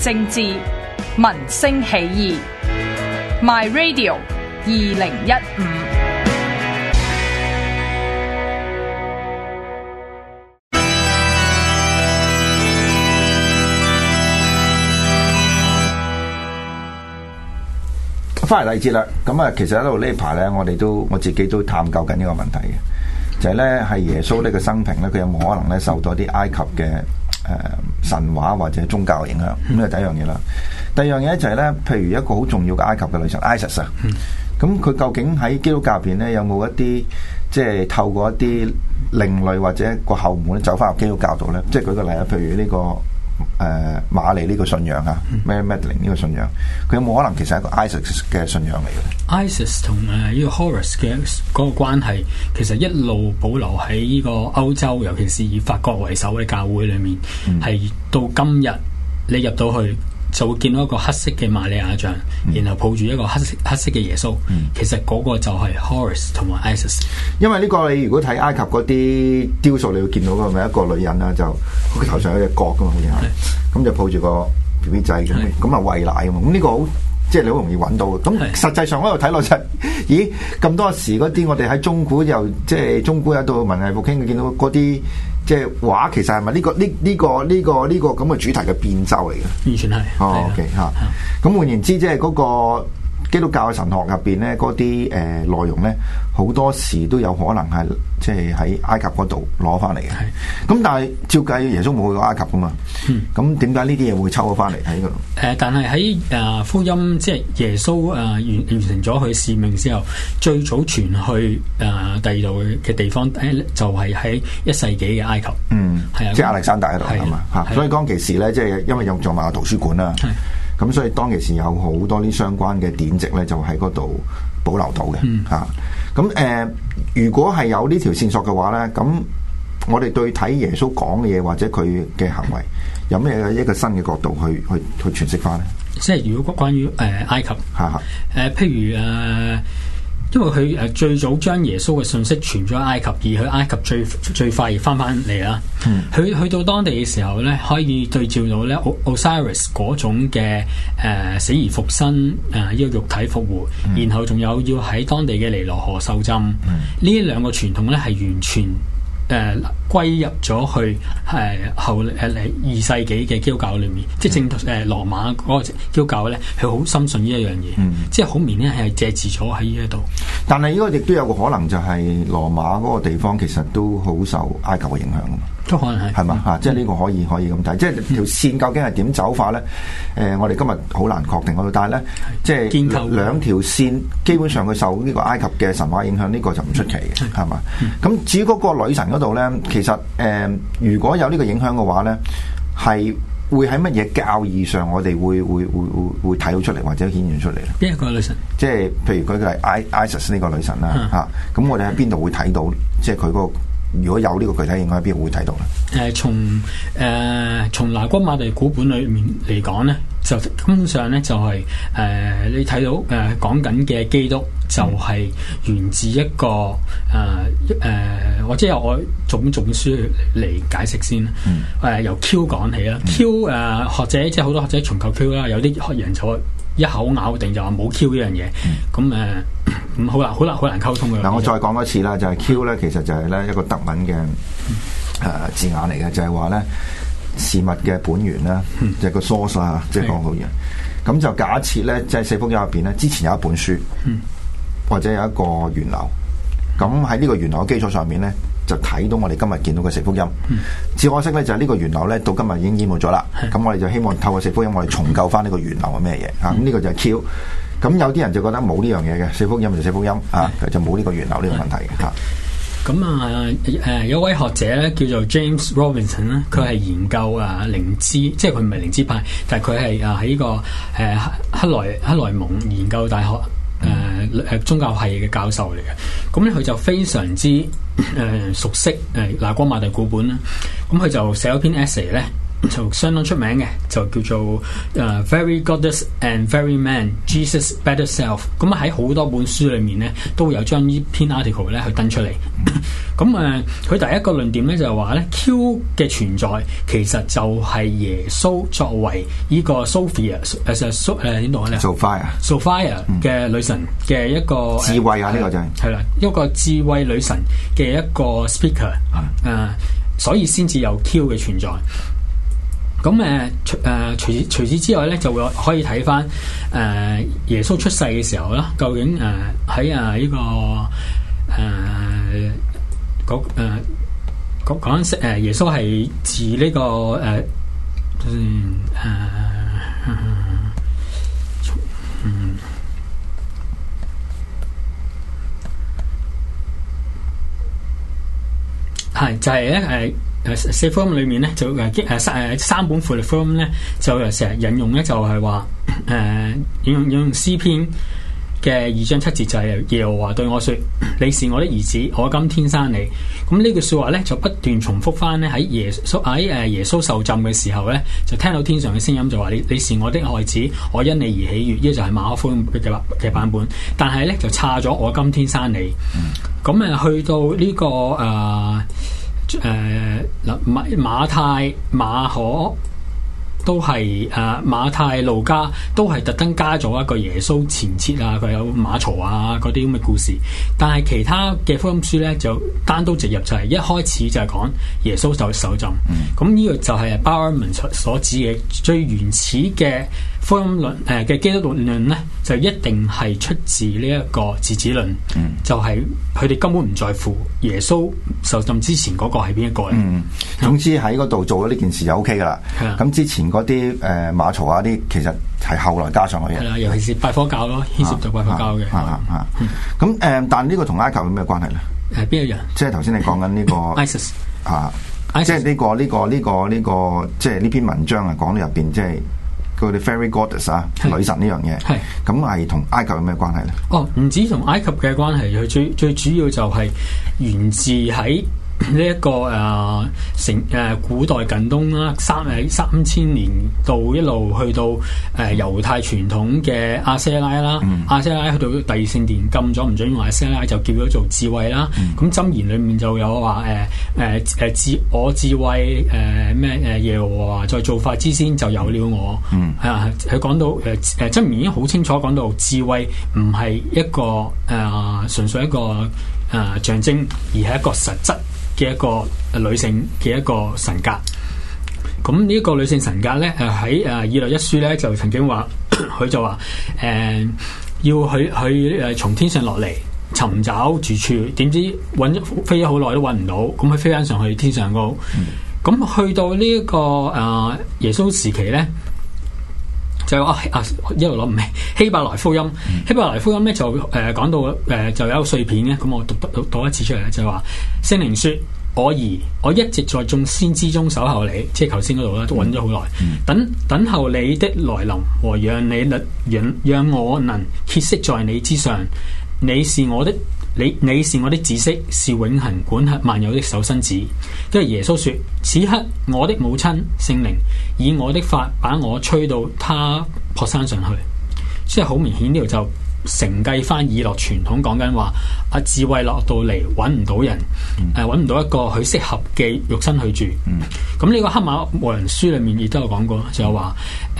政治、民聲起義。My Radio 2015。 翻嚟第二節啦，咁啊，其實喺度呢排咧，我自己都探究緊呢個問題嘅，就係咧係耶穌呢個生平咧，佢有冇可能咧受到啲埃及嘅神話或者宗教嘅影響？咁呢係第一樣嘢啦。第二樣嘢就係咧，譬如一個好重要嘅埃及嘅女神 Isis 啊，咁佢究竟喺基督教入邊咧有冇一啲即係透過一啲另類或者個後門走翻入基督教度咧？即係舉個例啊，譬如呢個瑪麗呢個信仰啊，Mary Magdalene 呢個信仰，佢有冇可能其實係一個 Isis 嘅信仰嚟嘅 ？Isis 同呢個 Horus 嘅嗰個關係，其實一路保留喺呢個歐洲，尤其是以法國為首嘅教會裏面，係到今日你入到去就會見到一個黑色嘅瑪利亞像，然後抱住一個黑色嘅耶穌。其實嗰個就係 Horus 同埋 Isis。因為呢個你如果睇埃及嗰啲雕塑，你會見到個咪一個女人啦，就佢頭上有隻角噶嘛，好似係，咁就抱住個 BB 仔咁，咁啊餵奶噶嘛。咁呢個好即係你好容易揾到嘅。咁實際上我喺度睇落就，咦咁多時嗰啲我哋喺中古又即係中古有到文藝復興，見到嗰啲。即係畫其實係咪呢個咁嘅主題嘅變奏嚟嘅？完全係。哦 ，OK 嚇。咁換言之，即係嗰個基督教嘅神學入邊咧，嗰啲內容咧，好多時都有可能係即係喺埃及嗰度攞翻嚟嘅。咁但係照計耶穌冇去過埃及噶嘛？咁點解呢啲嘢會抽咗翻嚟喺嗰度？但係喺福音即係耶穌完成咗佢使命之後，最早傳去第二度嘅地方就係喺1世紀嘅埃及。係啊，即係亞歷山大嗰度係嘛嚇。所以當其時咧，即係因為有做埋個圖書館啦。咁所以當其時有好多啲相關嘅典籍咧，就喺嗰度保留到嘅嚇。咁如果係有呢條線索嘅話咧，咁我哋對睇耶穌講嘅嘢或者佢嘅行為，有咩一個新嘅角度去詮釋翻咧？即係如果關於埃及譬如因為佢最早將耶穌嘅信息傳咗埃及，而去埃及最快亦翻嚟啦。佢去到當地嘅時候咧，可以對照到咧 Osiris 嗰種嘅死而復生呢個肉體復活，然後仲有要喺當地嘅尼羅河受浸，呢兩個傳統咧係完全歸入咗去後2世紀嘅基督教裏面，即係正羅馬嗰個基督教咧，佢好深信呢一樣嘢，即係好明顯係借字咗喺呢一度。但係呢個亦都有個可能，就係羅馬嗰個地方其實都好受埃及嘅影響啊嘛，都可能係嘛嚇，即係呢個可以咁睇，即係條線究竟係點走法咧？我哋今日好難確定嗰度，但係咧，即係兩條線基本上佢受呢個埃及嘅神話影響，呢個就唔出奇嘅，係嘛？咁至於嗰個女神嗰度咧，其實如果有呢個影響嘅話咧，係會喺乜嘢教義上我哋會睇到出嚟或者顯現出嚟咧？邊一個女神？即係譬如佢係 Isis 呢個女神啦嚇，咁我哋喺邊度會睇到？即係佢嗰個如果有呢個具體影響喺邊度會睇到咧？從拿戈馬地古本裏面嚟講咧，就根本上咧就係你睇到講緊嘅基督就係源自一個或者由我種書嚟解釋先啦。由 Q 講起啦，Q 學者即係好多學者重構 Q 啦，有啲學人就一口咬定就話冇 Q 呢樣嘢，咁好難溝通嘅。嗱，我再講多次啦，就係 Q 咧，其實就係咧一個德文嘅字眼嚟嘅，就係話咧事物嘅本源啦，就係個 source 啦，即係講好嘢。咁就假設咧，即係四福音入邊咧，之前有一本書，或者有一個源流，咁喺呢個源流嘅基礎上面咧，就睇到我哋今日見到嘅四福音。只可惜咧，就係呢個源流咧，到今日已經淹沒咗啦。咁我哋就希望透過四福音，我哋重構翻呢個源流係咩嘢嚇？咁呢個就係 Q。咁有啲人就覺得冇呢樣嘢嘅，四福音就四福音啊，就冇呢個源流呢個問題嘅嚇。咁有位學者咧叫做 James Robinson 咧，佢係研究靈知，即係佢唔係靈知派，但係佢係喺呢個克萊蒙研究大學宗教系嘅教授嚟嘅。咁咧佢就非常之熟悉拿戈馬地古本啦。咁佢就寫咗篇 essay 咧， 就相當出名嘅，就叫做Very Goddess and Very Man Jesus Better Self。咁喺好多本書裏面咧，都有將呢篇 article 咧去登出嚟。咁佢第一個論點咧就係話咧 Q 嘅存在其實就係耶穌作為呢個 Sophia 點讀咧 Sophia 嘅女神嘅一個智慧啊，呢個就係啦，一個智慧女神嘅一個 speaker 所以先至有 Q 嘅存在。咁除此之外咧，就會可以睇翻耶穌出世嘅時候啦，究竟喺呢個講緊耶穌係自呢個係就係咧四福音裏面咧就三本福音咧就成日引用咧就係話引用詩篇嘅2章7節，就係耶和華對我說：你是我的兒子，我今天生你。咁呢句說話咧就不斷重複翻咧喺耶穌受浸嘅時候咧，就聽到天上嘅聲音就話你是我的愛子，我因你而喜悅。呢個就係馬可福音嘅版本，但係咧就差咗我今天生你。咁去到呢個馬太、馬可都係馬太、路加都係特登加咗一個耶穌前設啊，佢有馬槽啊嗰啲咁嘅故事。但係其他嘅福音書咧就單刀直入，就係一開始就係講耶穌就受浸。咁呢個就係 Bowerman 所指嘅最原始嘅福音論嘅基督論咧，就一定係出自呢一個嗣子論。就係佢哋根本唔在乎耶穌受浸之前嗰個係邊一個嚟。 總之喺嗰度做咗呢件事就 OK 噶啦。咁之前嗰啲馬槽啊啲，其實係後來加上去嘅。係啦， 尤其是拜火教咯，牽涉到拜火教嘅。 咁但呢個同埃及有咩關係咧？ 邊一樣？即係頭先你講緊呢個 ISIS 即係呢個即係呢篇文章啊，講到入邊即係佢哋 Fairy Goddess 女神呢樣嘢。係咁係同埃及有咩關係咧？唔止同埃及嘅關係，佢最主要就係源自喺呢一個古代近東啦，3000年到一路去到猶太傳統嘅亞舍拉啦，亞舍拉去到第二聖殿禁咗唔准用亞舍拉，就叫咗做智慧啦。咁箴言裏面就有話我智慧耶和華在造法之先就有了我。佢講到箴言已經好清楚講到智慧唔係一個純粹一個象徵，而係一個實質嘅一個女性嘅一個神格。咁呢一個女性神格咧，喺以諾一書咧就曾經話，佢就話要佢從天上落嚟尋找住處，點知飛咗好耐都揾唔到，咁佢飛翻上去天上高。咁去到呢一個耶穌時期咧，就一路諗唔起希伯來福音。希伯來福音咧就講到就有碎片嘅，咁我讀一次出嚟咧，就係話聖靈說：我兒，我一直在眾先知中守候你，即係頭先嗰度啦，都揾咗好耐，等候你的來臨和讓我能歇息在你之上。你是我的子息，是永恆管轄萬有的守生子。跟住耶穌說：此刻我的母親聖靈以我的髮把我吹到他泊山上去。即係好明顯呢度就承繼翻以諾傳統，講緊話智慧落到嚟揾唔到人，揾唔到一個佢適合嘅肉身去住。咁呢個黑馬牧人書裏面亦都有講過，就係話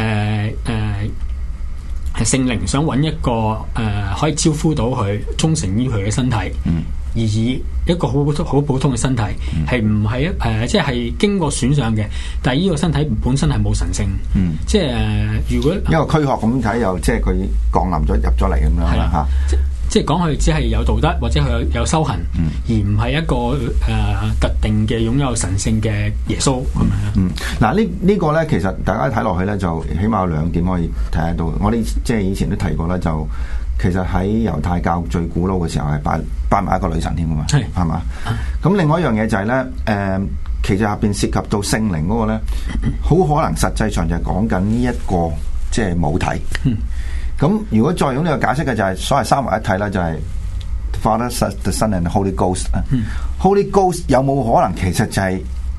聖靈想揾一個可以招呼到佢忠誠於佢嘅身體，而以一個好普通嘅身體，係唔係即係經過選上嘅，但係呢個身體本身係冇神性。即係如果一個軀殼咁睇，又即係佢降臨咗入咗嚟咁樣啦嚇。 即係講佢只係有道德或者佢有修行，而唔係一個特定嘅擁有神性嘅耶穌咁樣。 嗱呢個咧，其實大家睇落去咧，就起碼有2點可以睇得到。我哋即係以前都提過啦，就其實喺猶太教最古老嘅時候係拜埋一個女神添㗎嘛，係嘛？咁另外一樣嘢就係咧，其實入邊涉及到聖靈嗰個咧，好可能實際上就係講緊呢一個即係母體。咁如果再用呢個解釋嘅就係所謂三位一體啦，就係 Father, the Son and the Holy Ghost。Holy Ghost 有冇可能其實就係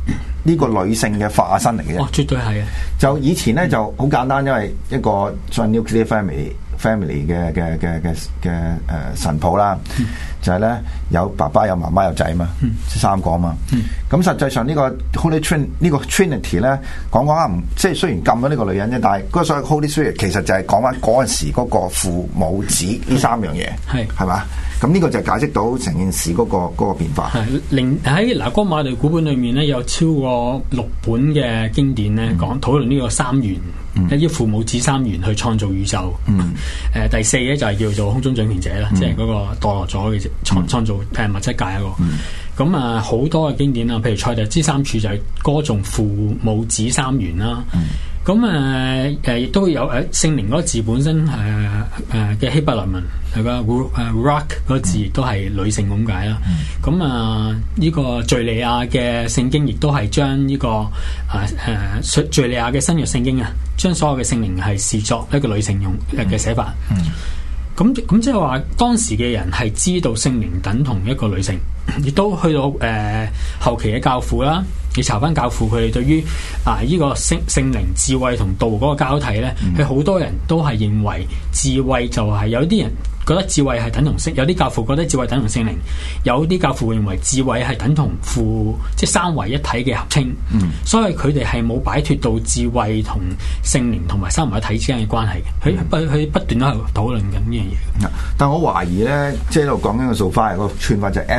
呢個女性嘅化身嚟嘅啫。 哦，絕對係啊！ 就以前咧就好簡單，因為一個所謂 nuclear family 嘅神譜啦，就係咧有爸爸有媽媽有仔嘛，三個嘛。咁實際上呢個 Holy Trinity 咧講下即係雖然禁咗呢個女人啫，但係嗰個所謂 Holy Spirit 其實就係講翻嗰陣時嗰個父母子呢三樣嘢，係嘛？咁呢個就解釋到成件事嗰個變化。 喺拿戈馬利古本裏面咧，有超過6本嘅經典咧，討論呢個三元，一啲父母子三元去創造宇宙。第4咧就係叫做空中掌權者啦，即係嗰個墮落咗嘅創造物質界一個。咁啊，好多嘅經典啊，譬如賽特之三柱就係歌頌父母子三元啦。咁亦都有聖靈嗰個字本身嘅希伯來文係個 rock 嗰個字亦都係女性咁解啦。咁呢個敘利亞嘅聖經亦都係將呢個敘利亞嘅新約聖經啊，將所有嘅聖靈係視作一個女性用嘅寫法。咁即係話當時嘅人係知道聖靈等同一個女性，亦都去到後期嘅教父啦。你查翻教父佢哋對於呢個聖靈智慧同道嗰個交替咧，佢好多人都係認為智慧就係有啲人覺得智慧係等同聖，有啲教父覺得智慧等同聖靈，有啲教父認為智慧係等同即係三位一體嘅合稱。所以佢哋係冇擺脫到智慧同聖靈同埋三位一體之間嘅關係嘅。佢不斷都喺度討論緊呢樣嘢。 但我懷疑咧，即係喺度講緊個Sophia個串法就係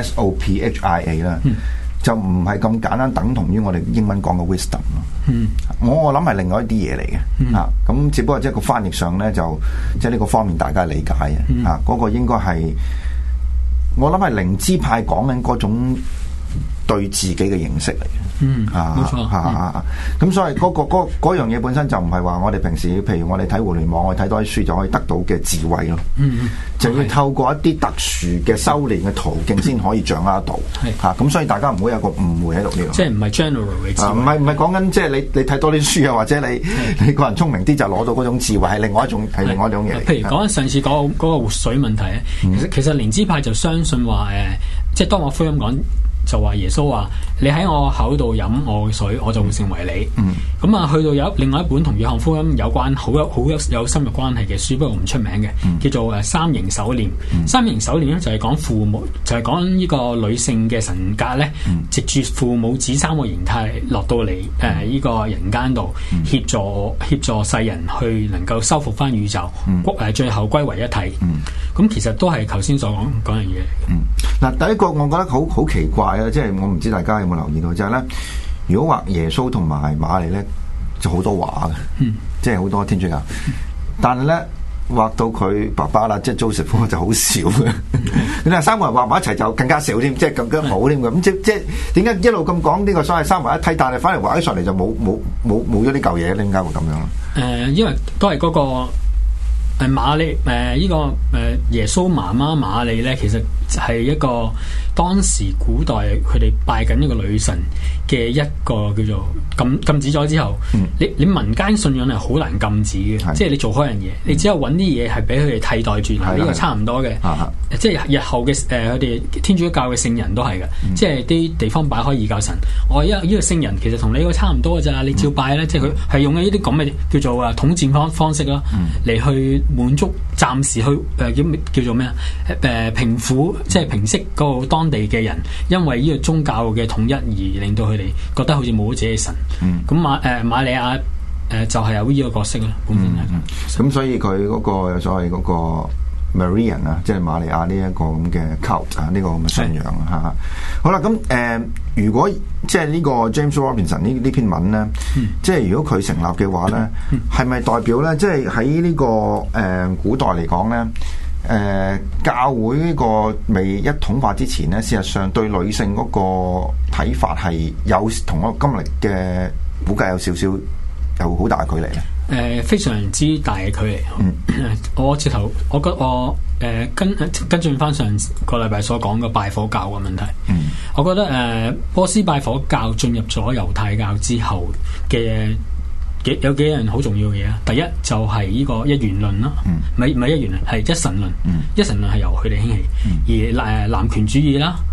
SOPHIA 啦。就唔係咁簡單等同於我哋英文講嘅 wisdom 咯。我諗係另外一啲嘢嚟嘅。咁只不過即係個翻譯上咧，就即係呢個方面大家理解嘅。嗰個應該係我諗係靈知派講緊嗰種對自己嘅認識嚟嘅。 冇錯。 咁所以嗰樣嘢本身就唔係話我哋平時譬如我哋睇互聯網，我哋睇多啲書就可以得到嘅智慧咯。就要透過一啲特殊嘅修煉嘅途徑先可以掌握到。咁所以大家唔好有個誤會喺度呢度。即係唔係 general 嘅智慧。 唔係講緊即係你睇多啲書啊，或者你個人聰明啲就攞到嗰種智慧，係另外一種嘢嚟。 譬如講緊上次嗰個活水問題咧，其實靈知派就相信話即係當我福音講。就話耶穌話你喺我口度飲我嘅水，我就會成為你。咁去到有另外一本同約翰福音有關好有深入關係嘅書，不過唔出名嘅，叫做三形手鏈。三形手鏈咧就係講父母，就係講呢個女性嘅神格咧，藉住父母子三個形態落到嚟呢個人間度，協助世人去能夠修復翻宇宙，最後歸為一體。咁其實都係頭先所講樣嘢嚟嘅。 嗱，第一個我覺得好奇怪。即係我唔知大家有冇留意到，就係咧，如果畫耶穌同埋瑪利咧，就好多畫嘅，即係好多天主教。但係咧畫到佢爸爸啦，即係 Joseph 就好少嘅。你話三個人畫埋一齊就更加少添，即係更加冇添嘅。咁即係點解一路咁講呢個所謂三位一體，但係反而畫起上嚟就冇咗呢嚿嘢？點解會咁樣咧？ 因為都係嗰個瑪利呢個耶穌媽媽瑪利咧，其實係一個當時古代佢哋拜緊一個女神嘅一個叫做禁止咗之後，你民間信仰係好難禁止嘅，即係你做開樣嘢，你只有揾啲嘢係俾佢哋替代住，呢個差唔多嘅。即係日後嘅佢哋天主教嘅聖人都係嘅，即係啲地方擺開異教神，我呢個聖人其實同你個差唔多嘅咋，你照拜咧，即係佢係用呢啲咁嘅叫做統戰方式啦，嚟去滿足暫時去叫做咩啊？平撫即係平息嗰個當地嘅人，因為呢個宗教嘅統一而令到佢哋覺得好似冇咗自己嘅神。咁瑪利亞就係有呢個角色啦，本身係。 咁所以佢嗰個所謂嗰個 Marian 啊，即係瑪利亞呢一個咁嘅 cult 啊，呢個咁嘅信仰嚇。好啦，咁如果即係呢個 James Robinson 呢篇文咧，即係如果佢成立嘅話咧，係咪代表咧，即係喺呢個古代嚟講咧？教會呢個未一統化之前咧，事實上對女性嗰個睇法係有同我今日嘅估計有少少有好大嘅距離咧。 非常之大嘅距離。我直頭，我覺得我跟進翻上個禮拜所講嘅拜火教嘅問題。我覺得波斯拜火教進入咗猶太教之後嘅。有幾樣好重要嘅嘢啊！第一就係呢個一元論啦，唔係一元論，係一神論。一神論係由佢哋興起，而男權主義啦，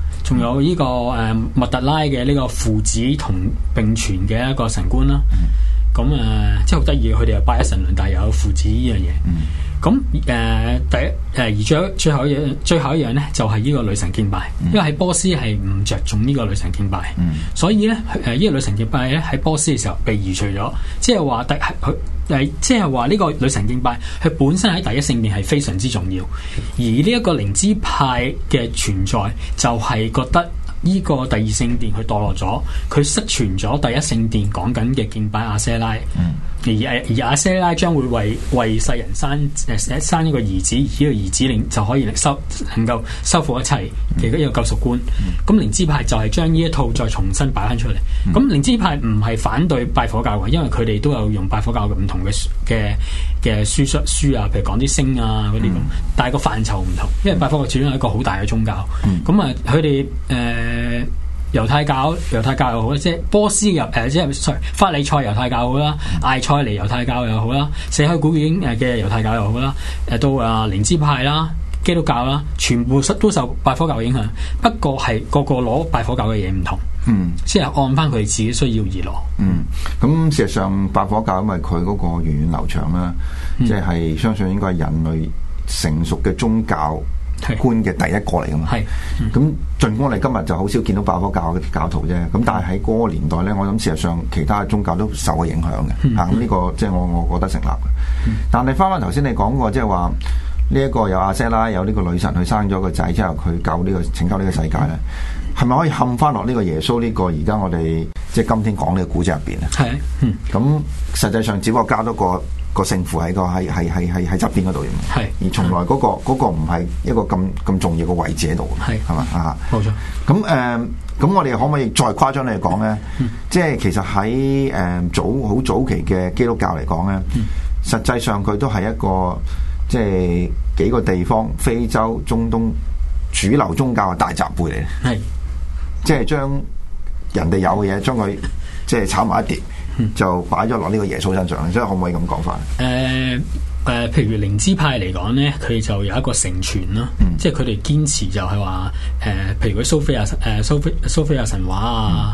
仲有呢個麥特拉嘅呢個父子同並存嘅一個神觀啦。咁即係好得意，佢哋又拜一神論，但係又有父子呢樣嘢。咁而最後一樣咧，就係呢個女神敬拜，因為喺波斯係唔着重呢個女神敬拜，所以咧呢個女神敬拜咧喺波斯嘅時候被移除咗，即係話即係話呢個女神敬拜佢本身喺第一聖殿係非常之重要，而呢一個靈知派嘅存在就係覺得呢個第二聖殿佢墮落咗，佢失傳咗第一聖殿講緊嘅敬拜亞舍拉。而亞舍拉將會為世人生一個兒子，而呢個兒子就可以能夠修復一切嘅一個救贖觀。咁靈知派就係將呢一套再重新擺翻出嚟。咁靈知派唔係反對拜火教嘅，因為佢哋都有用拜火教嘅唔同嘅書啊，譬如講啲星啊嗰啲咁，但係個範疇唔同，因為拜火教始終係一個好大嘅宗教。咁佢哋猶太教又好，即係波斯法利賽猶太教好啦，艾塞尼猶太教又好啦，死海古卷嘅猶太教又好啦，到靈知派啦、基督教啦，全部都受拜火教影響。不過係個攞拜火教嘅嘢唔同，即係按翻佢哋自己需要而攞。 咁事實上拜火教因為佢嗰個源遠流長啦，即係相信應該係人類成熟嘅宗教觀嘅第一個嚟噶嘛，咁盡管我哋今日就好少見到拜火教嘅教徒啫，咁但係喺嗰個年代咧，我諗事實上其他嘅宗教都受過影響嘅，咁呢個即係我覺得成立嘅。但係翻翻頭先你講過，即係話呢一個有亞舍拉有呢個女神去生咗個仔之後，佢拯救呢個世界咧，係咪可以冚翻落呢個耶穌呢個而家我哋即係今天講呢個古仔入邊咧？咁實際上只不過加多個聖父喺喺側邊嗰度，而從來嗰個唔係一個咁重要嘅位置喺度，係嘛啊？冇錯。咁我哋可唔可以再誇張嚟講咧？即係其實喺好早期嘅基督教嚟講咧，實際上佢都係一個即係幾個地方非洲、中東主流宗教嘅大雜燴嚟嘅，即係將人哋有嘅嘢將佢即係炒埋一碟。就擺咗落呢個耶穌身上，即係可唔可以咁講法？ 譬如靈知派嚟講咧，佢就有一個成傳啦，即係佢哋堅持就係話，譬如佢蘇菲亞神話啊，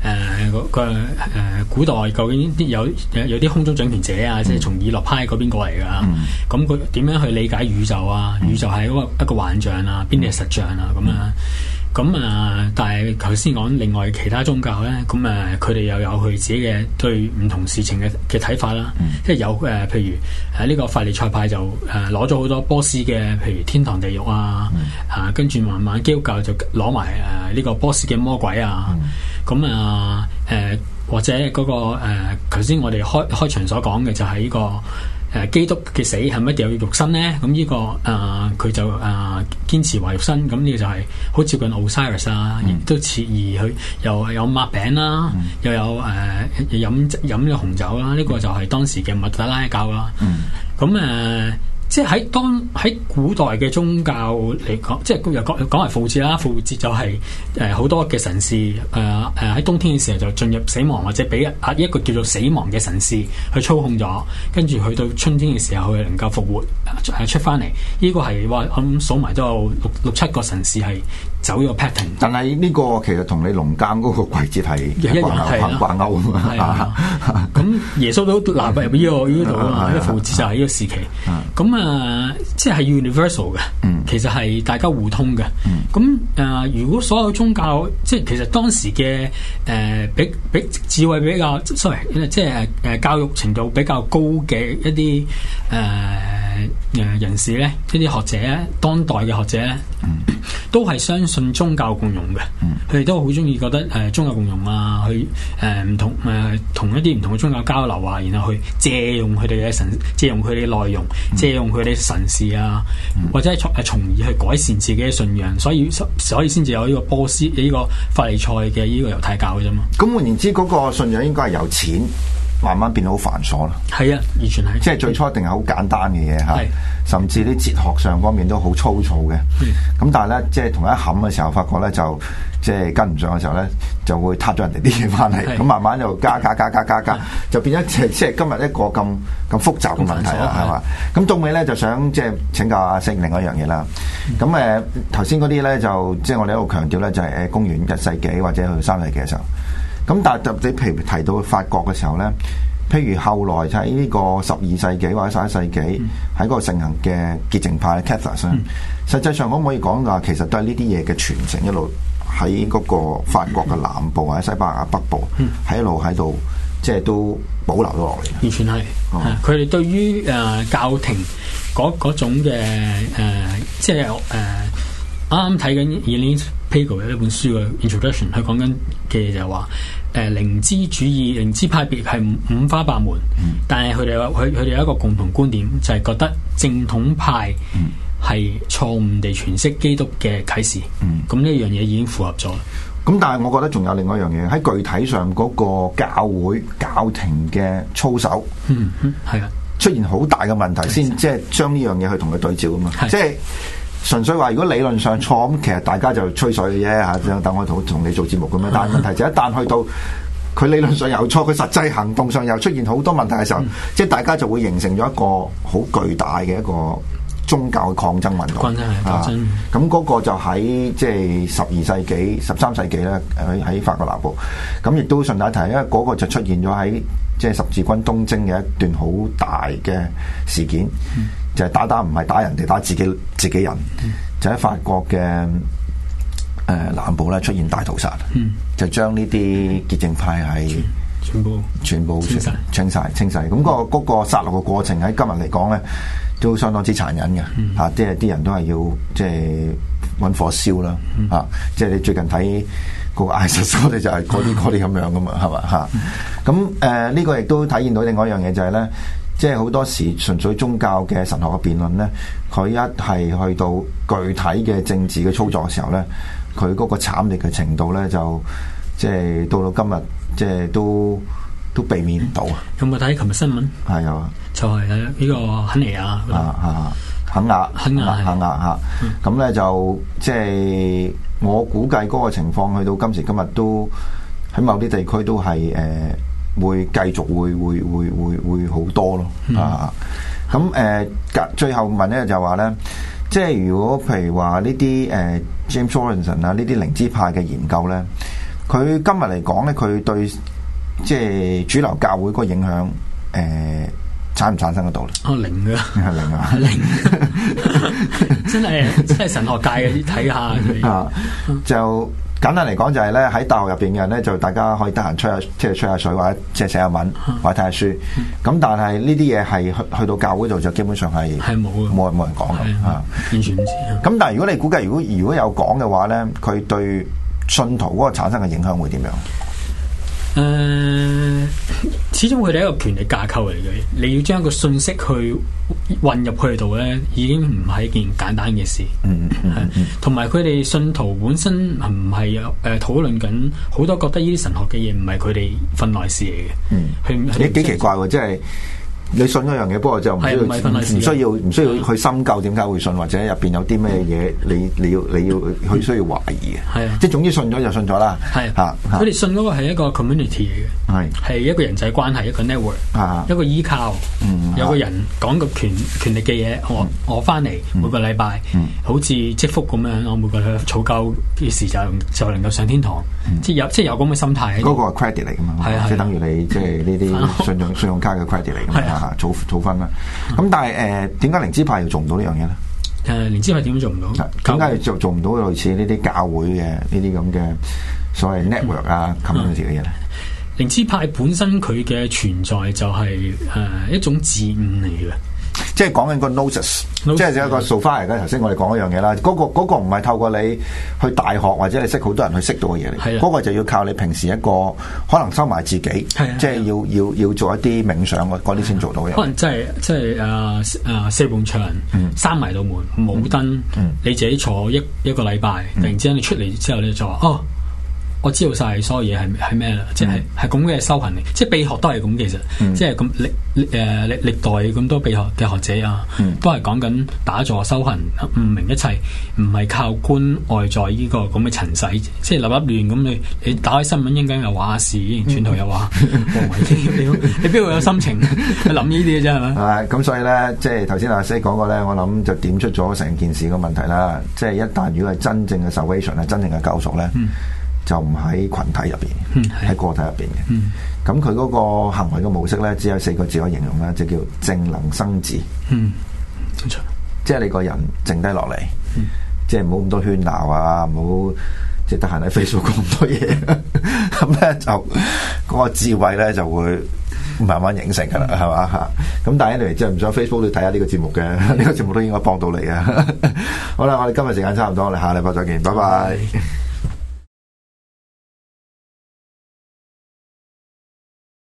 古代究竟有啲空中掌權者啊，即係從以諾派嗰邊過嚟噶，咁佢點樣去理解宇宙啊？宇宙係一個幻象啊，邊啲係實像啊？咁樣。但係頭先講另外其他宗教咧，佢哋又有佢自己嘅對唔同事情嘅睇法啦。即係有譬如呢個法利賽派就攞咗好多波斯嘅，譬如天堂地獄啊，跟住慢慢基督教就攞埋呢個波斯嘅魔鬼啊。或者嗰個頭先我哋開場所講嘅就係呢個。基督嘅死係咪一定要肉身咧？咁呢個佢就堅持話肉身，咁呢個就係好接近 Osiris 啊，亦都似而佢又有擘餅啦，又有飲呢個紅酒啦，呢個就係當時嘅麥特拉教啦。即係喺古代嘅宗教嚟講，即係又講為復活節啦。復活節就係好多嘅神士喺冬天嘅時候就進入死亡，或者俾一個叫做死亡嘅神士去操控咗，跟住去到春天嘅時候佢能夠復活出翻嚟。呢個係話咁數埋都有六七個神士係走呢個 pattern。但係呢個其實同你農耕嗰個季節係一樣掛鈎啊嘛。 咁耶穌都納入呢度啊嘛，呢個復活節就係呢個時期。即係 universal 嘅，其實係大家互通嘅。如果所有宗教，即係其實當時嘅比智慧比較，sorry，即係教育程度比較高嘅一啲人士咧，一啲學者，當代嘅學者咧，都係相信宗教共融嘅。佢哋都好中意覺得宗教共融啊，去唔同同一啲唔同嘅宗教交流啊，然後去借用佢哋嘅神，借用佢哋嘅內容，借用佢哋神事啊，或者係從而去改善自己嘅信仰，所以先至有呢個波斯呢個法利賽嘅呢個猶太教嘅啫嘛。 咁換言之，嗰個信仰應該係由錢慢慢變到好繁瑣啦。 係啊，完全係。 即係最初一定係好簡單嘅嘢嚇， 係甚至啲哲學上方面都好粗糙嘅。咁但係咧，即係同一冚嘅時候，發覺咧就即係跟唔上嘅時候咧，就會撻咗人哋啲嘢翻嚟。咁慢慢就加，就變咗即係今日一個咁複雜嘅問題啦，係嘛？咁到尾咧就想即係請教阿星另外一樣嘢啦。咁頭先嗰啲咧就即係我哋一路強調咧，就係公元1世紀或者去3世紀嘅時候。咁但係你譬如提到法國嘅時候咧，譬如後來就喺呢個12世紀或者11世紀喺嗰個盛行嘅潔淨派 Catholics 實際上可唔可以講話其實都係呢啲嘢嘅傳承一路喺嗰個法國嘅南部或者西班牙北部喺一路喺度即係都保留咗落嚟。 完全係，佢哋對於教廷嗰種嘅即係啱啱睇緊 Elaine Pagel 嘅一本書嘅 introduction， 佢講緊嘅就係話靈知主義、靈知派別係五花八門，但係佢哋有一個共同觀點，就係覺得正統派係錯誤地詮釋基督嘅啟示。咁呢樣嘢已經符合咗。 咁但係我覺得仲有另外一樣嘢喺具體上嗰個教會教廷嘅操守， 係啊，出現好大嘅問題先，即係將呢樣嘢去同佢對照啊嘛，即係。純粹話如果理論上錯咁，其實大家就吹水嘅啫嚇，等我同你做節目咁樣。但係問題就一旦去到佢理論上有錯，佢實際行動上又出現好多問題嘅時候，即係大家就會形成咗一個好巨大嘅一個宗教嘅抗爭運動。咁嗰個就喺即係12世紀、13世紀咧，喺法國南部。咁亦都順帶提，因為嗰個就出現咗喺即係十字軍東征嘅一段好大嘅事件。就係打唔係打人哋，打自己人，就喺法國嘅南部咧出現大屠殺，就將呢啲潔淨派係全部清晒。咁嗰個殺戮嘅過程喺今日嚟講咧，都相當之殘忍嘅嚇，即係啲人都係要即係揾火燒啦嚇，即係你最近睇嗰個 ISIS 嗰啲就係嗰啲咁樣噶嘛，係嘛嚇？咁呢個亦都體現到另外一樣嘢就係咧。即係好多時純粹宗教嘅神學嘅辯論咧，佢一係去到具體嘅政治嘅操作嘅時候咧，佢嗰個慘烈嘅程度咧，就即係到今日，即係都避免唔到啊！ 有冇睇琴日新聞？ 係有啊， 就係呢個肯尼亞肯亞嚇，咁咧就即係我估計嗰個情況去到今時今日都喺某啲地區都係會繼續會好多咯咁最後問咧就話咧，即係如果譬如話呢啲James Robinson 啊呢啲靈知派嘅研究咧，佢今日嚟講咧，佢對即係主流教會嗰個影響產唔產生得到咧？ 零嘅， 係零啊， 零，真係神學界嘅睇下就。簡單嚟講就係咧喺大學入邊嘅人咧就大家可以得閒吹下水或者即係寫下文或者睇下書，咁但係呢啲嘢係去到教會度就基本上係冇人講嘅完全唔知。 咁但係如果你估計如果有講嘅話咧，佢對信徒嗰個產生嘅影響會點樣？ 始終佢哋係一個權力架構嚟嘅，你要將一個信息去混入去度咧，已經唔係一件簡單嘅事。同埋佢哋信徒本身唔係討論緊好多，覺得呢啲神學嘅嘢唔係佢哋份內事嚟嘅。 幾奇怪喎，即係。你信嗰樣嘢，不過就唔需要去深究點解會信，或者入邊有啲咩嘢，你要去需要懷疑嘅。即係總之信咗就信咗啦。 佢哋信嗰個係一個 community 嚟嘅，係一個人際關係，一個 network，一個依靠。有個人講個權力嘅嘢，我翻嚟每個禮拜，好似積福咁樣，我每個禮拜儲夠嘅時就能夠上天堂。即係有咁嘅心態。 嗰個係 credit 嚟㗎嘛，即係等於你即係呢啲信用卡嘅 credit 嚟㗎嘛。儲分啦，咁但係點解靈知派又做唔到呢樣嘢咧？ 靈知派點解做唔到？ 點解做唔到類似呢啲教會嘅呢啲咁嘅所謂 network 啊 community 嘅嘢咧？ 靈知派本身佢嘅存在就係一種自悟嚟嘅。 即係講緊個 gnosis， 即係一個 sophia 嘅。頭先我哋講一樣嘢啦，嗰個唔係透過你去大學或者你識好多人去識到嘅嘢嚟，嗰個就要靠你平時一個可能收埋自己，即係要做一啲冥想嗰啲先做到嘅。 可能即係四埲牆閂埋道門冇燈，你自己坐一個禮拜，突然之間你出嚟之後你就話我知道晒所有嘢係咩啦，即係咁嘅修行嚟，即係秘學都係咁其實，即係咁歷代咁多秘學嘅學者啊，都係講緊打坐修行，悟明一切，唔係靠觀外在呢個咁嘅塵世，即係立亂咁你打開新聞應該又話事，轉頭又話你邊度有心情去諗呢啲嘅啫係咪？ 係咁，所以咧，即係頭先阿 Sir 講過咧，我諗就點出咗成件事嘅問題啦。即係一旦如果係真正嘅 salvation 係真正嘅救贖咧，就唔喺群體入邊，喺個體入邊嘅。咁佢嗰個行為嘅模式咧，只有4個字可以形容啦，就叫靜能生智。即係你個人靜低落嚟，即係唔好咁多喧鬧啊，唔好即係得閒喺 Facebook 講咁多嘢。咁咧就嗰個智慧咧就會慢慢形成噶啦，係嘛嚇？咁但係anyway，即係唔想 Facebook 都睇下呢個節目嘅，呢個節目都應該幫到你啊！好啦，我哋今日時間差唔多，我哋下禮拜再見，拜拜。